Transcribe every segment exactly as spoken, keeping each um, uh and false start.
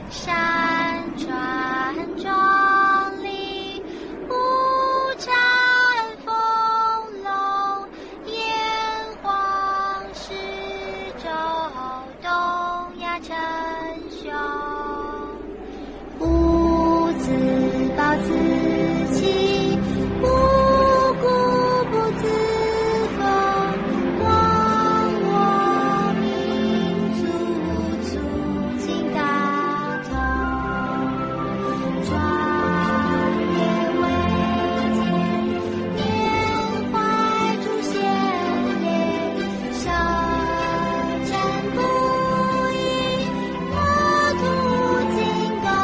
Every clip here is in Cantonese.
山川很壮丽，五彩丰隆，炎黄十洲，东亚称雄。吾自暴自弃，无故不自封，忘我民族，促进大同。壮烈伟健，缅怀祖先烈，舌战不已，国土精攻。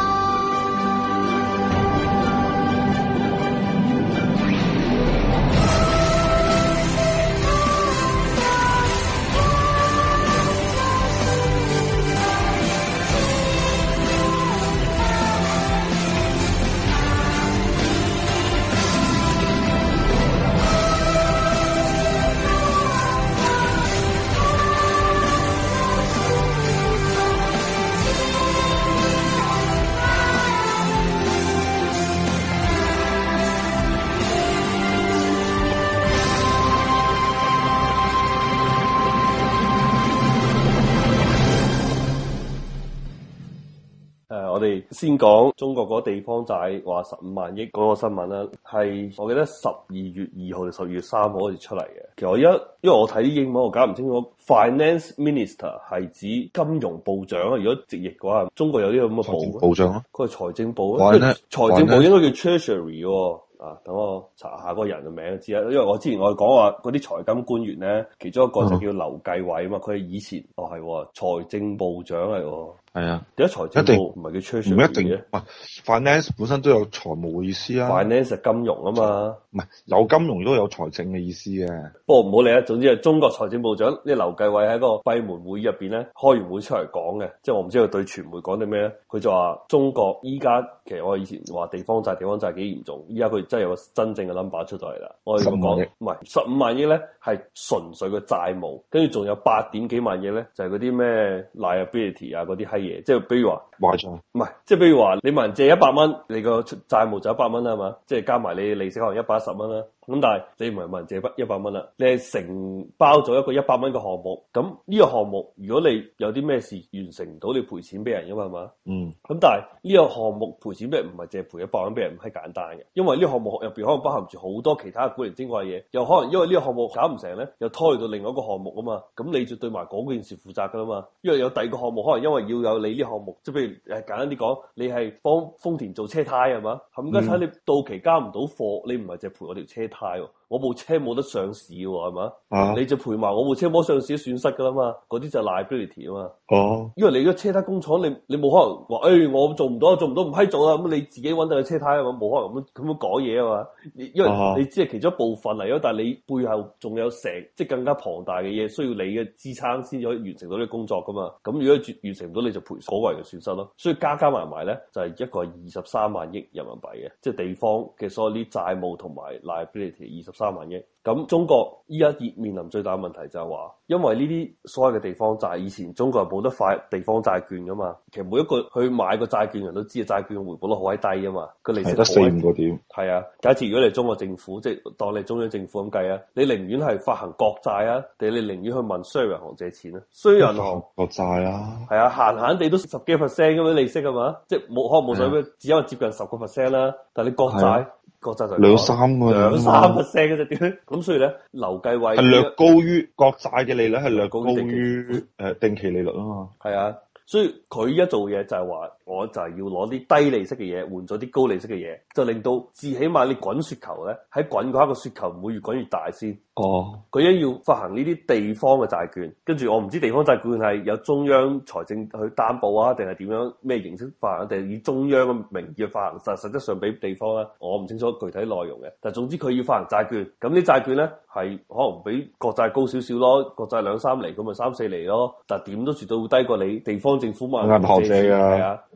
誒，我哋先講中國嗰地方債話十五萬億嗰個新聞啦，係我記得十二月二號定十二月三號好似出嚟嘅。其實我一因為我睇啲英文，我搞唔清楚 Finance Minister 係指金融部長啊。如果直譯嘅話，中國有啲咁嘅部部長咯， 佢係財政部啊。財政部應該叫 Treasury 喎。啊，等我查下嗰個人嘅名就知啦。因為我之前我哋講話嗰啲財金官員咧，其中一個就叫劉繼偉啊嘛。佢係以前哦係財政部長嚟喎。係啊，點解財政部唔係叫 Treasury 唔一定嘅？Finance 本身都有財務嘅意思啊。 Finance 係金融啊嘛， 唔係有金融都有財政嘅意思嘅。 不過唔好理啦，總之係中國財政部長呢劉繼偉喺個閉門會議入邊咧，開完會出嚟講嘅，即係我唔知佢對傳媒講啲咩咧。佢就話中國依家其實我以前話地方債地方債幾嚴重，依家佢真係有個真正嘅 number 出咗嚟啦。我哋咁講唔係十五萬億咧，係純粹嘅債務，跟住仲有八點幾萬億咧，就係嗰啲咩 liability 啊嗰啲閪嘢，即係比如話。 壞賬唔係，即係比如話你問人借一百蚊，你個債務就一百蚊啦，係嘛？即係加埋你利息可能一百一十蚊啦。咁但係你唔係問人借一百蚊啦，你係承包咗一個一百蚊嘅項目。咁呢個項目如果你有啲咩事完成唔到，你賠錢俾人噶嘛，係嘛？ 嗯。 咁但係呢個項目賠錢俾人唔係淨係賠一百蚊俾人，唔係簡單嘅，因為呢個項目入邊可能包含住好多其他古靈精怪嘢，又可能因為呢個項目搞唔成咧，又拖去到另外一個項目啊嘛。咁你就對埋嗰件事負責噶啦嘛。因為有第二個項目可能因為要有你呢個項目，即係譬如誒簡單啲講，你係幫豐田做車胎係嘛？冚家鏟你到期交唔到貨，你唔係淨係賠我條車胎喎。我部車冇得上市喎，係嘛？啊、你就賠埋我部車冇上市嘅損失噶啦嘛，嗰啲就係 liability 啊嘛。哦，因為你個車胎工廠，你你冇可能話，誒、欸、我做唔到，做唔到唔批做啦，咁你自己揾到個車胎啊嘛，冇可能咁咁樣講嘢啊嘛。因為你只係其中一部分嚟咯，但係你背後仲有成即係更加龐大嘅嘢，需要你嘅支撐先至可以完成到呢個工作噶嘛。咁如果完成唔到，你就賠所謂嘅損失咯。所以加加埋埋咧，就係、是、一個二十三萬億人民幣嘅，即係地方嘅所有啲債務同埋 liability 二十三萬億。咁中國依家面臨最大嘅問題就係話，因為呢啲所謂嘅地方債，以前中國係冇得發地方債券噶嘛。其實每一個去買個債券人都知，債券嘅回報率好閪低啊嘛，個利息得四五個點。 係啊，假設如果你中國政府即係當你中央政府咁計啊，你寧願係發行國債啊，定係你寧願去問商業銀行借錢啊？商業銀行國債啊， 係啊，閒閒地都十幾 percent 咁樣利息啊嘛，即係冇可能冇所謂，只有接近十個 percent 啦。但係你國債。國債就兩三個兩三 percent 嘅啫，點咁所以咧，劉繼偉係略高於國債嘅利率，係略高於誒定期利率啊嘛。 係啊，所以佢一做嘢就係話，我就係要攞啲低利息嘅嘢換咗啲高利息嘅嘢，就令到至起碼你滾雪球咧，喺滾嗰刻個雪球唔會越滾越大先。哦，佢一要發行呢啲地方嘅債券，跟住我唔知地方債券係有中央財政去擔保啊，定係點樣咩形式發行，定係以中央嘅名義去發行，實實質上俾地方啦，我唔清楚具體內容嘅。但係總之佢要發行債券，咁啲債券咧係可能比國債高少少咯，國債兩三厘，咁咪三四厘咯。但係點都絕對會低過你地方政府嘛銀行借嘅。係啊，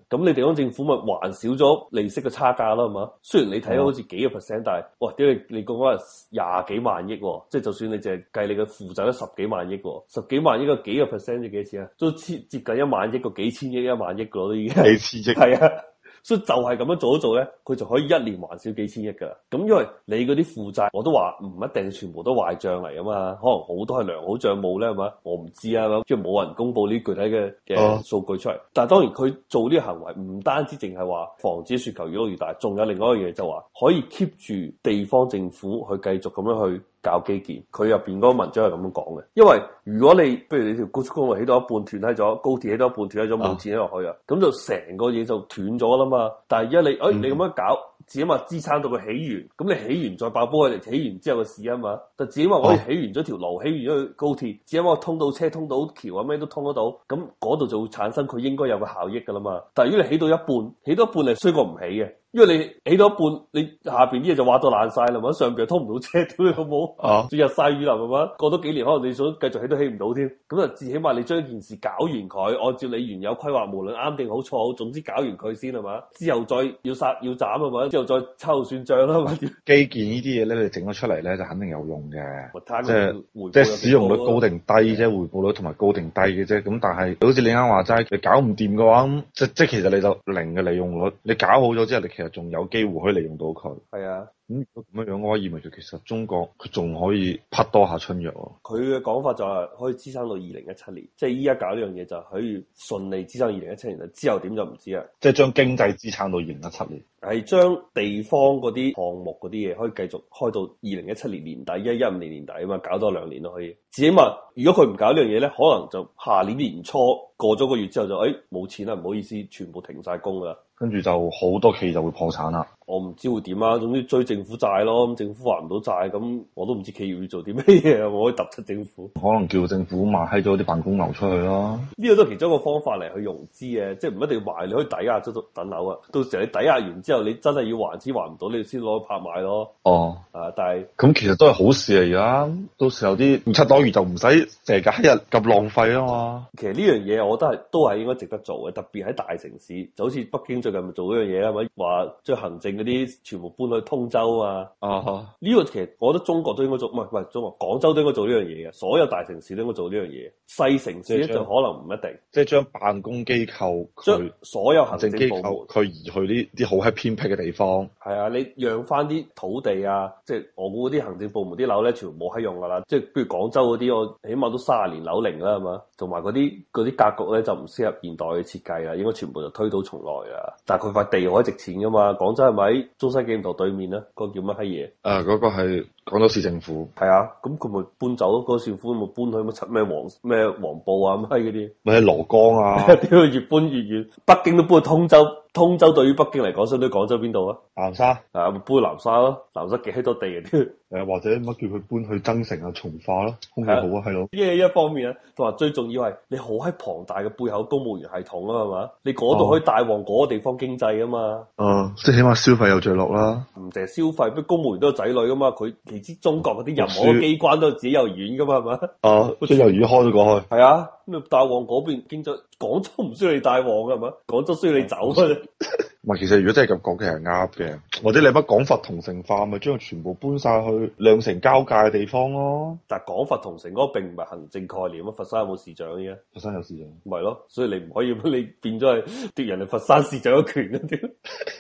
咁你地方政府咪還少咗利息嘅差價啦，係嘛？雖然你睇到好似幾個 percent，但係哇，屌你你講嗰係廿幾萬億，即係就算你淨係計你嘅負債都十幾萬億，十幾萬億個幾個 percent 即幾錢啊？都接接近一萬億個幾千億一萬億個都已經幾千億係啊。所以就係咁樣做一做咧，佢就可以一年還少幾千億噶。咁因為你嗰啲負債，我都話唔一定全部都壞賬嚟啊嘛，可能好多係良好賬務咧，係嘛？我唔知啊，即係冇人公布呢具體嘅嘅數據出嚟。但係當然佢做呢個行為唔單止淨係話防止雪球越撈越大，仲有另外一樣嘢就話可以 keep 住地方政府去繼續咁樣去搞基建。佢入邊嗰個文章係咁樣講嘅，因為如果你不如你條高速公路起到一半斷喺咗，高鐵起到一半斷喺咗，冇錢落去啊，咁就成個嘢就斷咗啦嘛。但係而家你，誒、哎、你咁樣搞，只係話支撐到佢起完，咁你起完再爆煲佢哋起完之後嘅事啊嘛。但只係話我哋起完咗條路，起完咗個高鐵，只係話通到車、通到橋啊咩都通得到，咁嗰度就會產生佢應該有個效益噶啦嘛。但係如果你起到一半，起到一半係衰過唔起嘅。因為你起到一半，你下邊啲嘢就挖到爛晒啦嘛，上邊又通唔到車，屌你好冇？啊，仲日曬雨淋係嘛？過多幾年可能你想繼續起都起唔到添。咁啊，至起碼你將件事搞完佢，按照你原有規劃，無論啱定好錯好，總之搞完佢先係嘛？之後再要殺要斬係嘛？之後再秋後算賬啦嘛？ 基建呢啲嘢咧，你整咗出嚟咧就肯定有用嘅，即係係即係使用率高定低啫，回報率同埋高定低嘅啫。咁但係好似你啱話齋，你搞唔掂嘅話，咁即即其實你就零嘅利用率。你搞好咗之後，你其實仲有機會可以利用到佢。 係啊。 咁如果咁樣樣嘅話，意味住其實中國佢仲可以匹多下春藥喎。 佢嘅講法就係可以支撐到二零一七年，即係依家搞呢樣嘢就可以順利支撐二零一七年。之後點就唔知啦。 即係將經濟支撐到二零一七年， 係將地方嗰啲項目嗰啲嘢可以繼續開到二零一七年年底，一一五年年底啊嘛，搞多兩年都可以。至起碼如果佢唔搞呢樣嘢咧，可能就下年年初過咗個月之後就誒冇錢啦，唔好意思，全部停晒工啦。 跟住就好多企業就會破產啦。 我唔知會點啊，總之追政府債咯，咁政府還唔到債，咁我都唔知企業要做啲咩嘢，我可以揼出政府。 可能叫政府賣閪咗啲辦公樓出去咯。 呢個都係其中一個方法嚟去融資嘅，即係唔一定要賣，你可以抵押咗等樓啊。到時候你抵押完之後，你真係要還錢還唔到，你先攞去拍賣咯。哦，啊，但係咁其實都係好事嚟噶，到時候啲唔七多餘就唔使成日日咁浪費啊嘛。 其實呢樣嘢我覺得係都係應該值得做嘅，特別喺大城市，就好似北京最近咪做呢樣嘢啊，咪話將行政嗰啲全部搬去通州啊。啊哈，呢個其實我覺得中國都應該做，唔係唔係中國，廣州都應該做呢樣嘢嘅，所有大城市都應該做呢樣嘢，細城市咧就可能唔一定。即係將辦公機構將所有行政機構佢移去呢啲好喺偏僻嘅地方。係啊，你讓翻啲土地啊，即係我估嗰啲行政部門啲樓咧，全部冇喺用噶啦。即係譬如廣州嗰啲，我起碼都卅年樓齡啦，係嘛？同埋嗰啲嗰啲格局咧就唔適合現代嘅設計啦，應該全部就推倒重來啊。但係佢塊地可以值錢噶嘛？廣州係咪喺中西紀念堂對面咧？嗰個叫乜閪嘢？誒、啊，嗰、嗰個係廣州市政府。係啊，咁佢咪搬走咯？嗰、嗰個市政府咪搬去乜七咩黃咩黃埔啊？乜閪嗰啲？咪喺蘿崗啊？屌，越搬越遠，北京都搬去通州。通州對於北京嚟講，相對廣州邊度啊？南沙啊，搬去南沙咯。南沙幾閪多地嘅啲。誒，或者乜叫佢搬去增城啊、從化咯，空氣好啊，係咯。呢係一方面啊，同埋最重要係你好喺龐大嘅背後公務員系統啊，係嘛？你嗰度可以帶旺嗰個地方經濟啊嘛。哦，即係起碼消費有着落啦。唔淨係消費，不公務員都有仔女噶嘛。佢其知中國嗰啲任何機關都有自己幼兒園噶嘛，係嘛？哦，即係幼兒園開咗過去。係啊，咁你帶旺嗰邊經濟，廣州唔需要你帶旺嘅係嘛？廣州需要你走啊。唔係，其實如果真係咁講，其實係啱嘅。或者你乜廣佛同城化，咪將佢全部搬晒去兩城交界嘅地方咯。但係廣佛同城嗰個並唔係行政概念啊！佛山有冇市長嘅？佛山有市長，唔係咯，所以你唔可以你變咗係奪人哋佛山市長嘅權嗰啲。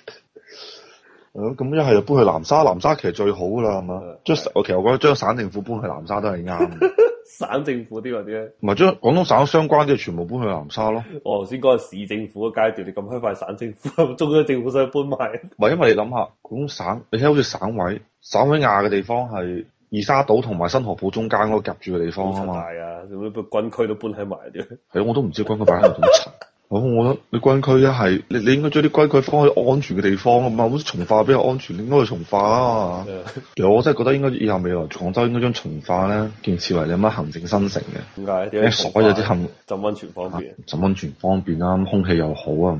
咁一係就搬去南沙，南沙其實最好噶啦，係嘛？將我其實我覺得將省政府搬去南沙都係啱。省政府啲嗰啲咧，唔係將廣東省相關啲全部搬去南沙咯。我頭先講係市政府嘅階段，你咁快快省政府，中央政府想搬埋？唔係，因為你諗下廣東省，你睇好似省委，省委亞嘅地方係二沙島同埋新河浦中間嗰個夾住嘅地方啊嘛。係啊，咁啲軍區都搬喺埋啲。係，我都唔知軍區擺喺度點查。我我覺得你軍區一係你你應該將啲軍區放喺安全嘅地方啊嘛，好似從化比較安全，你應該去從化啊。其實我真係覺得應該以後未來廣州應該將從化咧建設為你乜行政新城嘅。點解？因為所有啲行浸溫泉方便，浸溫泉方便啦，空氣又好啊，係嘛？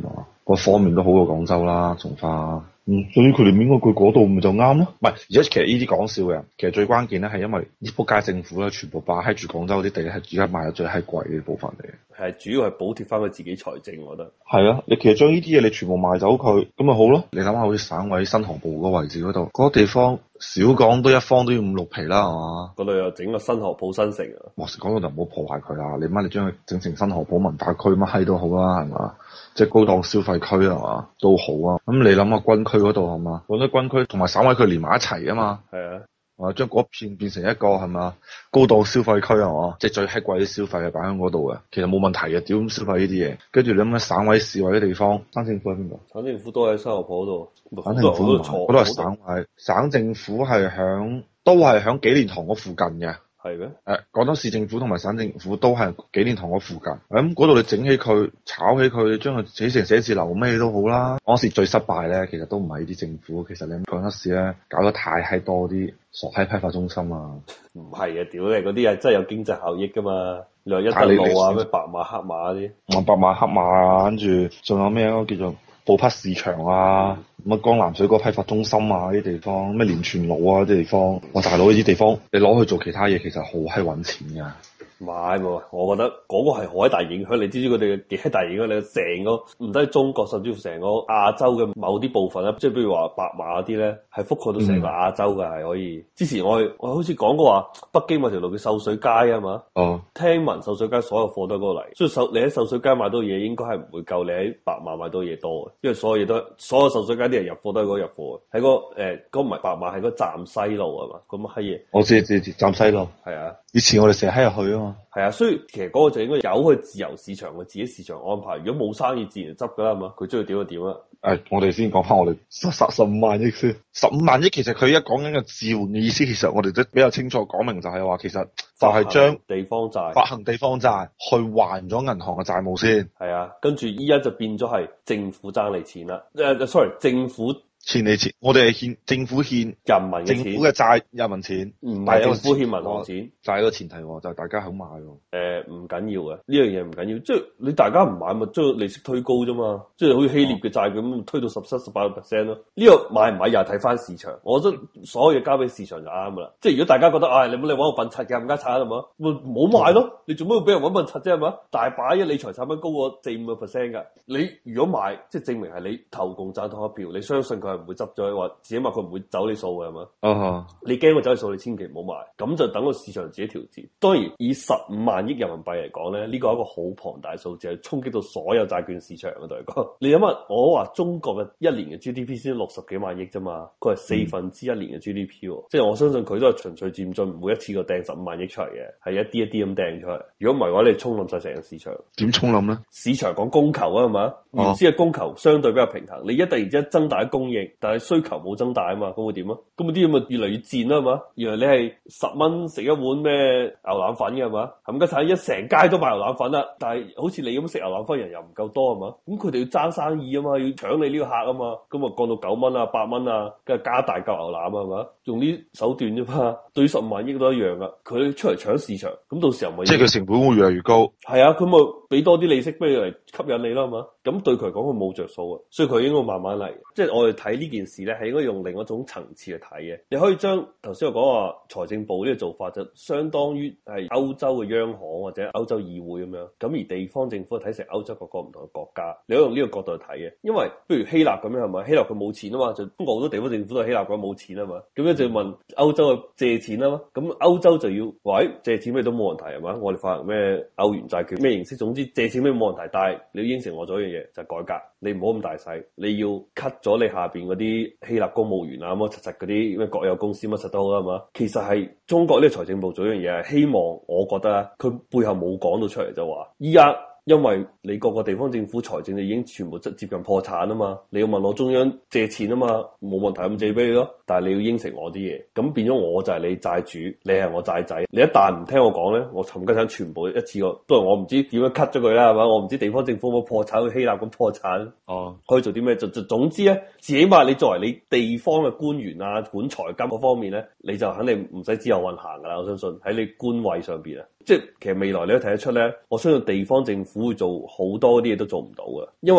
各方面都好過廣州啦，從化。嗯，所以佢哋應該佢嗰度咪就啱咯。唔係，而且其實呢啲講笑嘅，其實最關鍵咧係因為呢仆街政府咧全部霸喺住廣州啲地係而家賣得最閪貴嘅部分嚟嘅。 係主要係補貼翻佢自己財政，我覺得。 係啊，你其實將呢啲嘢你全部賣走佢，咁咪好咯。你諗下，好似省委新河部嗰個位置嗰度，嗰、嗰個地方少講都一方都要五六皮啦，係嘛？ 嗰度又整個新河浦新城啊！ 哇，講到就唔好破壞佢啦。你媽你將佢整成新河浦文化區乜閪都好啦，係嘛？即係高檔消費區係嘛都好啊。咁你諗下軍區嗰度係嘛？廣州軍區同埋省委區連埋一齊啊嘛。係啊。啊，將嗰片變成一個係嘛高檔消費區係嘛？即係最閪貴啲消費係擺喺嗰度嘅，其實冇問題嘅。屌咁消費呢啲嘢，跟住你諗下省委市委嘅地方，省政府喺邊度？ 省政府都喺新河浦嗰度。 省政府唔係，嗰度係省委，省政府係響都係響紀念堂嗰附近嘅。 係咩？ 誒，廣州市政府同埋省政府都係紀念堂嗰附近。咁嗰度你整起佢，炒起佢，將佢起成寫字樓咩都好啦。嗰時最失敗咧，其實都唔係呢啲政府，其實你廣州市咧搞得太閪多啲傻閪批發中心啊。 唔係啊，屌你嗰啲係真係有經濟效益噶嘛？你話一德路啊，咩白馬黑馬嗰啲， 我白馬黑馬啊，跟住仲有咩啊叫做布匹市場啊，乜江南水果批發中心啊啲地方，咩連泉路啊啲地方，哇大佬呢啲地方你攞去做其他嘢，其實好閪揾錢噶。 唔係喎，我覺得嗰個係好閪大影響，你知唔知佢哋嘅幾閪大影響？你成個唔單係中國，甚至乎成個亞洲嘅某啲部分咧，即係比如話白馬嗰啲咧，係覆蓋到成個亞洲嘅，係、嗯、可以。之前我我好似講過話，北京某條路叫秀水街啊嘛。哦。聽聞秀水街所有貨都喺嗰度嚟，所以秀你喺秀水街買到嘢，應該係唔會夠你喺白馬買到嘢多嘅，因為所有嘢都所有秀水街啲人入貨都喺嗰度入貨嘅，喺、嗰個誒嗰唔係白馬係嗰站西路啊嘛，咁乜閪嘢？我知知知，站西路。係啊。以前我哋成日喺入去啊嘛。係啊，所以其實嗰個就應該由佢自由市場嘅自己市場安排。如果冇生意，自然執噶啦，係嘛？佢中意點就點啦。誒、哎，我哋先講翻我哋十十十五萬億先。十五萬億其實佢一講緊嘅置換嘅意思，其實我哋都比較清楚講明，就係話其實就係將地方債發行地方債去還咗銀行嘅債務先。係啊，跟住依家就變咗係政府爭你錢啦。誒、uh, ，sorry， 政府。欠你錢，我哋係欠政府欠人民嘅錢，政府嘅債人民錢，唔係政府欠銀行錢，就係個前提，就係大家肯買。誒、呃，唔緊要嘅，呢樣嘢唔緊要，即係你大家唔買咪將利息推高啫嘛，即係好似希臘嘅債咁推到十七、十八個 percent 咯。呢、這個買唔買又係睇翻市場，我覺得所有嘢交俾市場就啱噶啦。即係如果大家覺得，唉、哎，你冇你搵我笨柒嘅，冚家鏟係嘛，咪唔好買咯。你做咩要俾人搵笨柒啫係嘛？大把一理財產品高過四五個 percent 噶。你如果買，即係證明係你投共贊同一票，你相信佢係唔會執咗，話自己話佢唔會走你數嘅係嘛？啊哈！你驚佢走你數，你千祈唔好買。咁就等個市場自己調節。當然，以十五萬億人民幣嚟講咧，呢個係一個好龐大數字，係衝擊到所有債券市場嘅嚟講。你諗下，我話中國嘅一年嘅 G D P 先六十幾萬億啫嘛，佢係四分之一年嘅 G D P，、嗯、即係我相信佢都係循序漸進，唔會一次過掟十五萬億出嚟嘅，係一啲一啲咁掟出嚟。如果唔係嘅話，你沖冧晒成個市場。點沖冧咧？市場講供求啊嘛，原先嘅供求相對比較平衡，你一突然之間增大供應，但係需求冇增大啊嘛，咁會點啊？咁啲咁咪越嚟越賤啦係嘛？原來你係十蚊食一碗咩牛腩粉嘅係嘛？冚家鏟一成街都賣牛腩粉啦，但係好似你咁食牛腩粉人又唔夠多係嘛？咁佢哋要爭生意啊嘛，要搶你呢個客啊嘛，咁啊降到九蚊啊八蚊啊，跟住加大嚿牛腩啊係嘛？用啲手段啫嘛，對於十五萬億都一樣噶，佢出嚟搶市場，咁到時候咪即係佢成本會越嚟越高。係啊，佢咪俾多啲利息俾你嚟吸引你啦嘛？咁對佢嚟講佢冇着數啊，所以佢應該慢慢嚟。即係我哋睇呢件事咧，係應該用另一種層次去睇嘅。你可以將頭先我講話財政部呢個做法，就相當於係歐洲嘅央行或者歐洲議會咁樣。咁而地方政府睇成歐洲各個唔同嘅國家，你可以用呢個角度去睇嘅。因為不如希臘咁樣係咪？希臘佢冇錢啊嘛，就中國好多地方政府都係希臘講冇錢啊嘛。咁樣就要問歐洲去借錢啊嘛。咁歐洲就要喂借錢咩都冇問題係嘛？我哋發行咩歐元債券咩形式，總之借錢咩冇問題。但係你要應承我咗一樣嘢，就係改革。你唔好咁大細，你要 cut 咗你下邊嗰啲希臘公務員啊，乜柒柒嗰啲咩國有公司乜柒都好啦，係嘛？其實係中國呢個財政部做一樣嘢，係希望我覺得啊，佢背後冇講到出嚟就話依家。因為你各個地方政府財政就已經全部接接近破產啊嘛，你要問我中央借錢啊嘛，冇問題咁借俾你咯，但係你要應承我啲嘢，咁變咗我就係你債主，你係我債仔，你一旦唔聽我講咧，我冚家鏟全部一次過，都係我唔知點樣 cut 咗佢啦，係嘛？我唔知地方政府有冇破產，去希臘咁破產，哦，可以做啲咩？就就總之咧，至起碼你作為你地方嘅官員啊，管財金嗰方面咧，你就肯定唔使自由運行噶啦，我相信喺你官位上邊啊。即係其實未來你都睇得出咧，我相信地方政府會做好多啲嘢都做唔到嘅，因為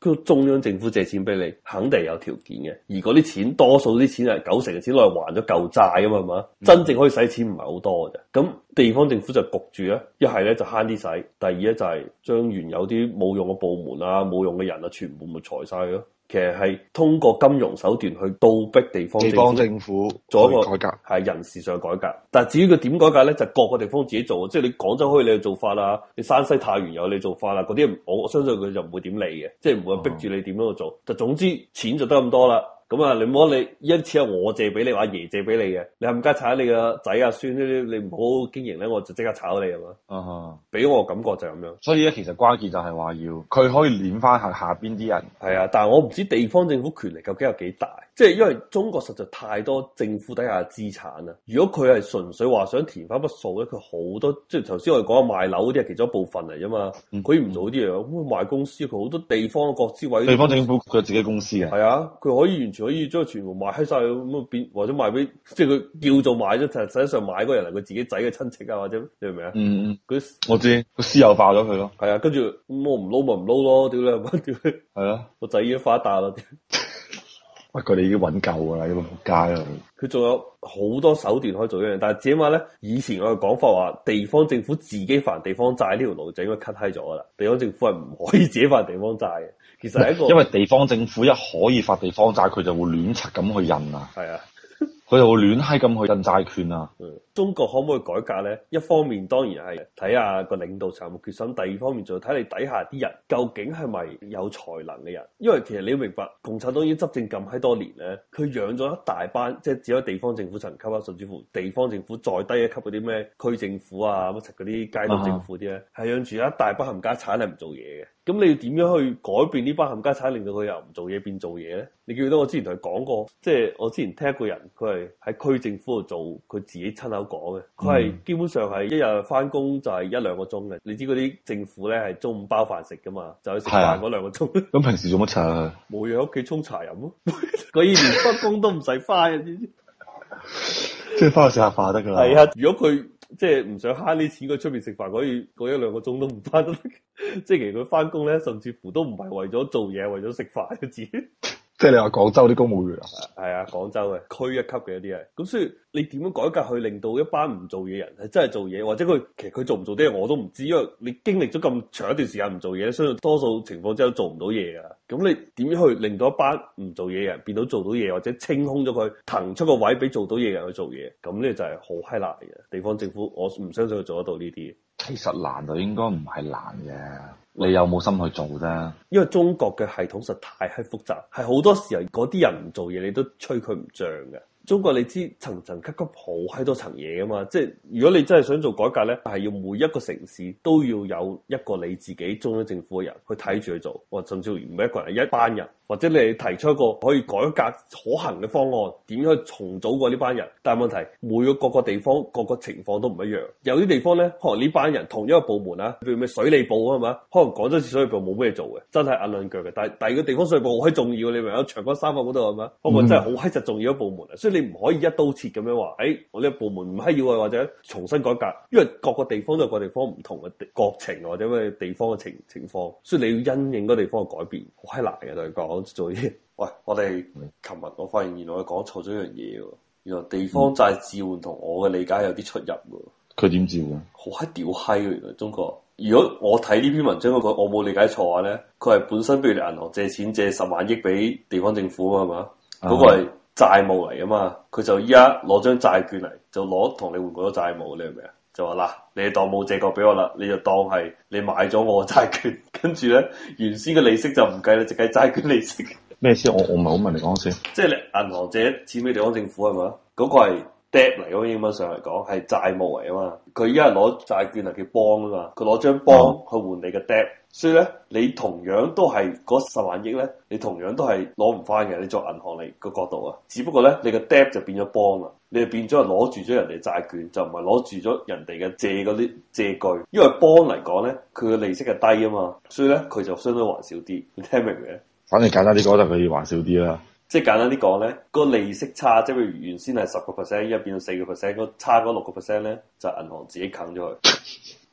佢中央政府借錢俾你，肯定有條件嘅。而嗰啲錢，多數啲錢係九成嘅錢攞嚟還咗舊債啊嘛，係嘛？嗯、真正可以使錢唔係好多嘅啫。咁地方政府就焗住咧，一係咧就慳啲使，第二咧就係將原有啲冇用嘅部門啊、冇用嘅人啊，全部咪裁晒咯。其實係通過金融手段去倒逼地方政府，地方政府做一個改革，係人事上改革。但係至於佢點改革咧，就各個地方自己做。即係你廣州可以你去做法啦，你山西太原有你做法啦，嗰啲我相信佢就唔會點理嘅，即係唔會逼住你點樣去做。就、嗯、總之錢就得咁多啦。咁啊，你唔好你一次係我借俾你，阿爺借俾你嘅，你冚家鏟你個仔啊孫呢啲，你唔好經營咧，我就即刻炒你係嘛？啊哈！俾我感覺就係咁樣。所以咧，其實關鍵就係話要佢可以攆翻下下邊啲人。係啊，但係我唔知地方政府權力究竟有幾大，即係因為中國實在太多政府底下嘅資產啦。如果佢係純粹話想填翻筆數咧，佢好多即係頭先我哋講賣樓嗰啲係其中一部分嚟啫嘛。佢唔、嗯、做啲嘢，咁賣公司佢好多地方嘅國資委。地方政府佢有自己公司嘅。係啊，佢可以完全可以將佢全部賣閪晒咁啊變，或者賣俾即係佢叫做賣咗，實際上買嗰人係佢自己仔嘅親戚啊，或者你明唔明啊？嗯嗯，佢我知，佢私有化咗佢咯。係啊，跟住咁我唔撈咪唔撈咯，屌你係咪？屌你係啊，個仔已經發達啦。喂，佢哋已經揾夠噶啦，呢個仆街啦。佢仲有好多手段可以做一樣，但係至起碼咧，以前我嘅講法話，地方政府自己還地方債呢條路就應該 cut 閪咗啦。地方政府係唔可以自己還地方債嘅，其實係一個因為地方政府一可以發地方債，佢就會亂柒咁去印啊。係啊。佢就會亂閪咁去印債券啊！嗯，中國可唔可以改革咧？一方面當然係睇下個領導層有冇決心，第二方面就睇你底下啲人究竟係咪有才能嘅人。因為其實你要明白，共產黨已經執政咁閪多年咧，佢養咗一大班，即係只有地方政府層級啊，甚至乎地方政府再低一級嗰啲咩區政府啊，乜柒嗰啲街道政府啲咧，係、啊、養住一大班冚家產係唔做嘢嘅。咁你要點樣去改變呢班冚家產，令到佢由唔做嘢變做嘢咧？你記唔記得我之前同佢講過，即係我之前聽一個人，佢係喺區政府度做，佢自己親口講嘅，佢係基本上係一日翻工就係一兩個鐘嘅。你知嗰啲政府咧係中午包飯食噶嘛，就去食飯嗰兩個鐘。咁、啊、平時做乜柒啊？冇嘢喺屋企沖茶飲咯，佢連翻工都唔使翻嘅，知唔知？即係翻去食下飯得噶啦。係啊，如果佢即係唔想慳啲錢，佢出邊食飯可以嗰一兩個鐘都唔翻得。即係其實佢翻工咧，甚至乎都唔係為咗做嘢，為咗食飯嘅自己。即係你話廣州啲公務員啊？係啊，廣州嘅區一級嘅一啲係。咁所以你點樣改革去令到一班唔做嘢人係真係做嘢，或者佢其實佢做唔做啲嘢我都唔知，因為你經歷咗咁長一段時間唔做嘢，相信多數情況之下都做唔到嘢噶。咁你點樣去令到一班唔做嘢人變到做到嘢，或者清空咗佢，騰出個位俾做到嘢人去做嘢？咁呢就係好閪難嘅。地方政府我唔相信佢做得到呢啲。其實難就應該唔係難嘅。你有冇心去做啫？因為中國嘅系統實太係複雜，係好多時候嗰啲人唔做嘢，你都吹佢唔脹嘅。中國你知層層級級好閪多層嘢噶嘛，即係如果你真係想做改革咧，係要每一個城市都要有一個你自己中央政府嘅人去睇住去做，或甚至乎唔係一個人，係一班人，或者你提出一個可以改革可行嘅方案，點樣去重組過呢班人？但係問題每個各個地方各個情況都唔一樣，有啲地方咧可能呢班人同一個部門啊，譬如咩水利部啊嘛，可能廣州市水利部冇咩做嘅，真係硬兩腳嘅。但係第二個地方水利部好閪重要，你明唔明啊？長江三角嗰度係嘛，可能真係好閪實重要一部門啊，所以你唔可以一刀切咁樣話，誒、哎，我呢個部門唔係要啊，或者重新改革，因為各個地方都有各個地方唔同嘅國情或者咩地方嘅情情況，所以你要因應嗰地方嘅改變，好閪難嘅。同你講做嘢，喂，我哋琴日我發現原來我講錯咗一樣嘢喎，原來地方債置換同我嘅理解有啲出入喎。佢點置換？好閪屌閪嘅，原來中國。如果我睇呢篇文章嗰個，我冇理解錯嘅話咧，佢係本身譬如你銀行借錢借十萬億俾地方政府啊嘛，嗰、嗰個係債務嚟啊嘛，佢就依家攞張債券嚟，就攞同你換過咗債務，你明唔明啊？就話嗱，你當冇借過俾我啦，你就當係你買咗我嘅債券，跟住咧原先嘅利息就唔計啦，淨計債券利息。咩先？我我唔係好明你講先。即係你銀行借錢俾地方政府係嘛？嗰、嗰個係 debt 嚟，嗰英文上嚟講係債務嚟啊嘛。佢依家係攞債券嚟叫 bond 啊嘛，佢攞張 bond 去換你嘅 debt。所以咧，你同樣都係嗰十萬億咧，你同樣都係攞唔翻嘅。你作銀行嚟個角度啊，只不過咧，你個 debt 就變咗 bond 啦，你就變咗係攞住咗人哋債券，就唔係攞住咗人哋嘅借嗰啲借據。因為 bond 嚟講咧，佢嘅利息係低啊嘛，所以咧佢就相對還少啲。你聽明未？反正簡單啲講就佢要還少啲啦。即係簡單啲講咧，個利息差，即係譬如原先係十個 percent，依家變到四個 percent，嗰差嗰六個 percent 咧，就銀行自己啃咗佢。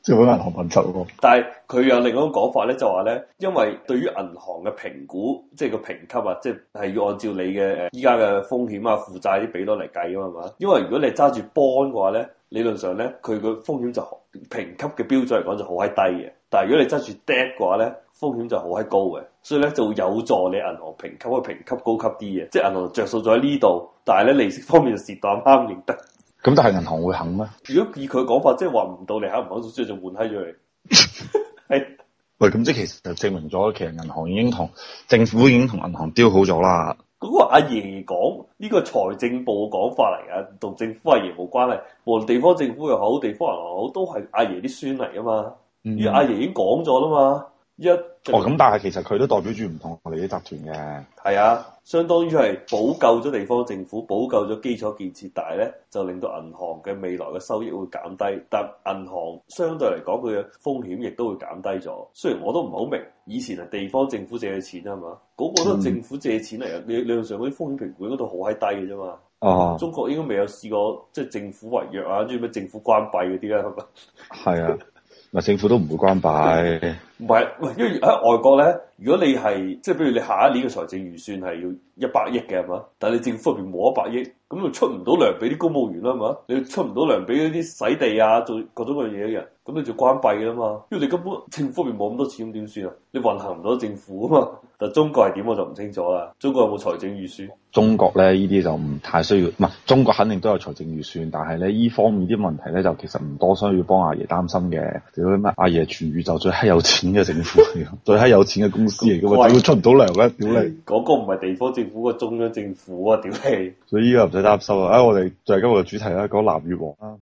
即係揾銀行問責喎。 但係佢有另一種講法咧，就話咧，因為對於銀行嘅評估，即係個評級啊，即係係要按照你嘅誒依家嘅風險啊、負債啲比率嚟計啊嘛。因為如果你揸住 bond 嘅話咧，理論上咧佢個風險就評級嘅標準嚟講就好閪低嘅。但係如果你揸住 debt 嘅話咧，風險就好閪高嘅，所以咧就會有助你銀行評級去評級高級啲嘅，即係銀行着數咗喺呢度，但係咧利息方面就蝕到啱啱認得。 咁但係銀行會肯咩？ 如果以佢講法，即係話唔到你肯唔肯，所以就換閪咗佢。係喂，咁即係其實就證明咗，其實銀行已經同政府已經同銀行 deal 好咗啦。 嗰個阿爺講呢個財政部嘅講法嚟㗎，同政府阿爺冇關係。無論地方政府又好，地方銀行好，都係阿爺啲孫嚟㗎嘛。而阿爺已經講咗啦嘛。一哦咁，但係其實佢都代表住唔同我哋啲集團嘅。 係啊，相當於係補救咗地方政府，補救咗基礎建設，但係咧就令到銀行嘅未來嘅收益會減低，但銀行相對嚟講佢嘅風險亦都會減低咗。雖然我都唔係好明，以前係地方政府借嘅錢啊嘛，嗰、那個都係政府借錢嚟嘅，理理論上嗰啲風險評估嗰度好閪低嘅啫嘛。 哦， 中國應該未有試過即係政府違約啊，即係咩政府關閉嗰啲啦，係咪？ 係啊。咪政府都唔會關閉， 唔係，喂，因為喺外國咧，如果你係即係，比如你下一年嘅財政預算係要一百億嘅係嘛，但係你政府入邊冇一百億，咁就出唔到糧俾啲公務員啦，係嘛，你出唔到糧俾嗰啲洗地啊，做各種各樣嘢嘅人，咁你就關閉嘅啦嘛，因為你根本政府入邊冇咁多錢，咁點算啊？你運行唔到政府啊嘛。但中國係點我就唔清楚啦。中國有冇財政預算？ 中國咧呢啲就唔太需要，唔係中國肯定都有財政預算，但係咧呢方面啲問題咧就其實唔多需要幫阿爺擔心嘅。屌你乜阿爺全宇宙最閪有錢嘅政府嚟，最閪有錢嘅公司嚟嘅嘛，點會出唔到糧咧？屌你！ 嗰個唔係地方政府，個中央政府啊！屌你！ 所以依家唔使擔心啊！啊，我哋就係今日嘅主題啦，講南越王啦。